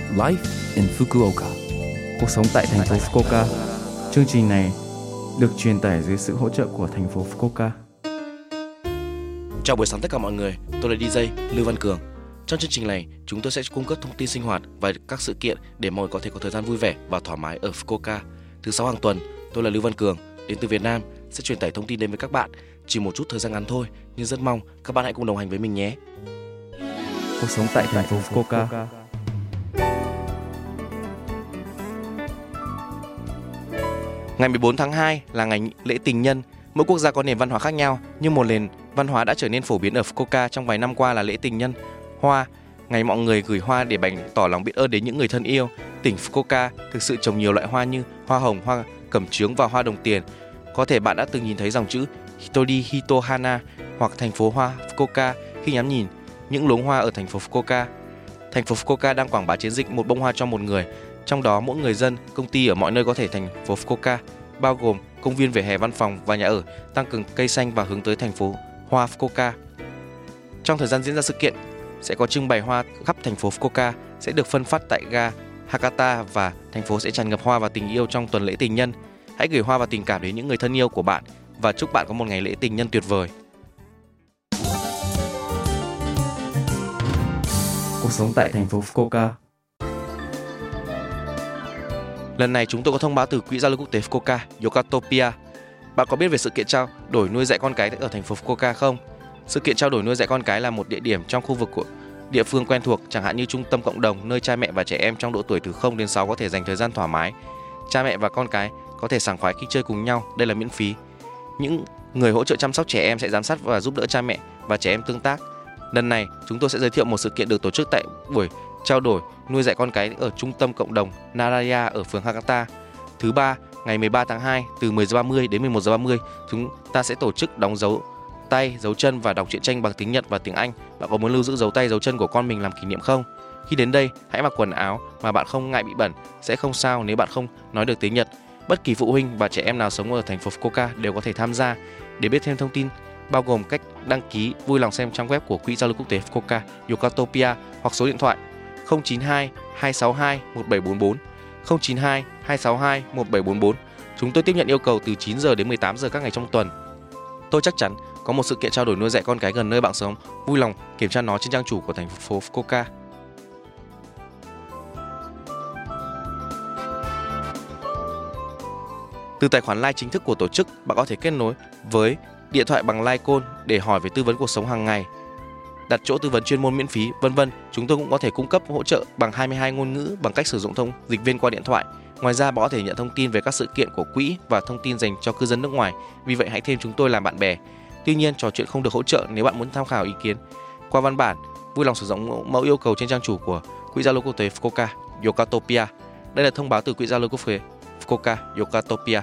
Life in Fukuoka. Cuộc sống tại thành phố Fukuoka. Chương trình này được truyền tải dưới sự hỗ trợ của thành phố Fukuoka. Chào buổi sáng tất cả mọi người, tôi là DJ Lưu Văn Cường. Trong chương trình này, chúng tôi sẽ cung cấp thông tin sinh hoạt và các sự kiện để mọi người có thể có thời gian vui vẻ và thoải mái ở Fukuoka. Thứ 6 hàng tuần, tôi là Lưu Văn Cường, đến từ Việt Nam, sẽ truyền tải thông tin đến với các bạn. Chỉ một chút thời gian ngắn thôi, nhưng rất mong các bạn hãy cùng đồng hành với mình nhé. Cuộc sống tại thành phố Fukuoka. Ngày 14 tháng 2 là ngày lễ tình nhân. Mỗi quốc gia có nền văn hóa khác nhau, nhưng một nền văn hóa đã trở nên phổ biến ở Fukuoka trong vài năm qua là lễ tình nhân hoa. Ngày mọi người gửi hoa để bày tỏ lòng biết ơn đến những người thân yêu. Tỉnh Fukuoka thực sự trồng nhiều loại hoa như hoa hồng, hoa cẩm chướng và hoa đồng tiền. Có thể bạn đã từng nhìn thấy dòng chữ Hitori Hito Hana hoặc thành phố hoa Fukuoka khi ngắm nhìn những luống hoa ở thành phố Fukuoka. Thành phố Fukuoka đang quảng bá chiến dịch một bông hoa cho một người. Trong đó mỗi người dân, công ty ở mọi nơi có thể thành phố Fukuoka, bao gồm công viên, vỉa hè, văn phòng và nhà ở, tăng cường cây xanh và hướng tới thành phố hoa Fukuoka. Trong thời gian diễn ra sự kiện, sẽ có trưng bày hoa khắp thành phố Fukuoka, sẽ được phân phát tại ga Hakata và thành phố sẽ tràn ngập hoa và tình yêu trong tuần lễ tình nhân. Hãy gửi hoa và tình cảm đến những người thân yêu của bạn và chúc bạn có một ngày lễ tình nhân tuyệt vời. Cuộc sống tại thành phố Fukuoka. Lần này chúng tôi có thông báo từ Quỹ Giao lưu Quốc tế Fukuoka, Yokatopia. Bạn có biết về sự kiện trao đổi nuôi dạy con cái ở thành phố Fukuoka không? Sự kiện trao đổi nuôi dạy con cái là một địa điểm trong khu vực của địa phương quen thuộc, chẳng hạn như trung tâm cộng đồng, nơi cha mẹ và trẻ em trong độ tuổi từ 0 đến 6 có thể dành thời gian thoải mái. Cha mẹ và con cái có thể sảng khoái khi chơi cùng nhau, đây là miễn phí. Những người hỗ trợ chăm sóc trẻ em sẽ giám sát và giúp đỡ cha mẹ và trẻ em tương tác. Lần này, chúng tôi sẽ giới thiệu một sự kiện được tổ chức tại buổi trao đổi nuôi dạy con cái ở trung tâm cộng đồng Naraya ở phường Hakata. Thứ ba, ngày 13 tháng 2 từ 10:30 đến 11:30, chúng ta sẽ tổ chức đóng dấu tay, dấu chân và đọc truyện tranh bằng tiếng Nhật và tiếng Anh. Bạn có muốn lưu giữ dấu tay, dấu chân của con mình làm kỷ niệm không? Khi đến đây, hãy mặc quần áo mà bạn không ngại bị bẩn, sẽ không sao nếu bạn không nói được tiếng Nhật. Bất kỳ phụ huynh và trẻ em nào sống ở thành phố Fukuoka đều có thể tham gia. Để biết thêm thông tin bao gồm cách đăng ký, vui lòng xem trang web của Quỹ Giao lưu Quốc tế Fukuoka, Yokatopia hoặc số điện thoại 092 262 1744, 092 262 1744. Chúng tôi tiếp nhận yêu cầu từ 9 giờ đến 18 giờ các ngày trong tuần. Tôi chắc chắn có một sự kiện trao đổi nuôi dạy con cái gần nơi bạn sống. Vui lòng kiểm tra nó trên trang chủ của thành phố Fukuoka. Từ tài khoản LINE chính thức của tổ chức, bạn có thể kết nối với điện thoại bằng LINE Call để hỏi về tư vấn cuộc sống hàng ngày, đặt chỗ tư vấn chuyên môn miễn phí, vân vân. Chúng tôi cũng có thể cung cấp hỗ trợ bằng 22 ngôn ngữ bằng cách sử dụng thông dịch viên qua điện thoại. Ngoài ra, bạn có thể nhận thông tin về các sự kiện của quỹ và thông tin dành cho cư dân nước ngoài. Vì vậy, hãy thêm chúng tôi làm bạn bè. Tuy nhiên, trò chuyện không được hỗ trợ. Nếu bạn muốn tham khảo ý kiến qua văn bản, vui lòng sử dụng mẫu yêu cầu trên trang chủ của Quỹ Giao lưu Quốc tế Fukuoka, Yokatopia. Đây là thông báo từ Quỹ Giao lưu Quốc tế Fukuoka, Yokatopia.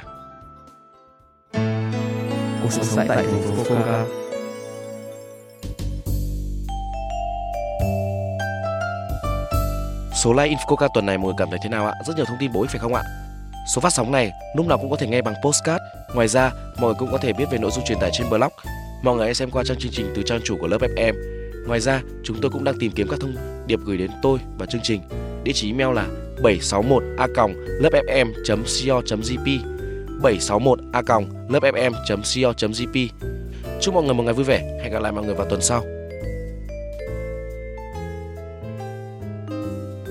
Cuộc sống tại thành phố Fukuoka. Số Live in Fukuoka tuần này mọi người cảm thấy thế nào ạ? Rất nhiều thông tin bổ ích phải không ạ? Số phát sóng này lúc nào cũng có thể nghe bằng podcast. Ngoài ra, mọi người cũng có thể biết về nội dung truyền tải trên blog. Mọi người hãy xem qua trang chương trình từ trang chủ của lớp FM. Ngoài ra, chúng tôi cũng đang tìm kiếm các thông điệp gửi đến tôi và chương trình. Địa chỉ email là 761a.lớpfm.co.jp 761a.lớpfm.co.jp. Chúc mọi người một ngày vui vẻ. Hẹn gặp lại mọi người vào tuần sau.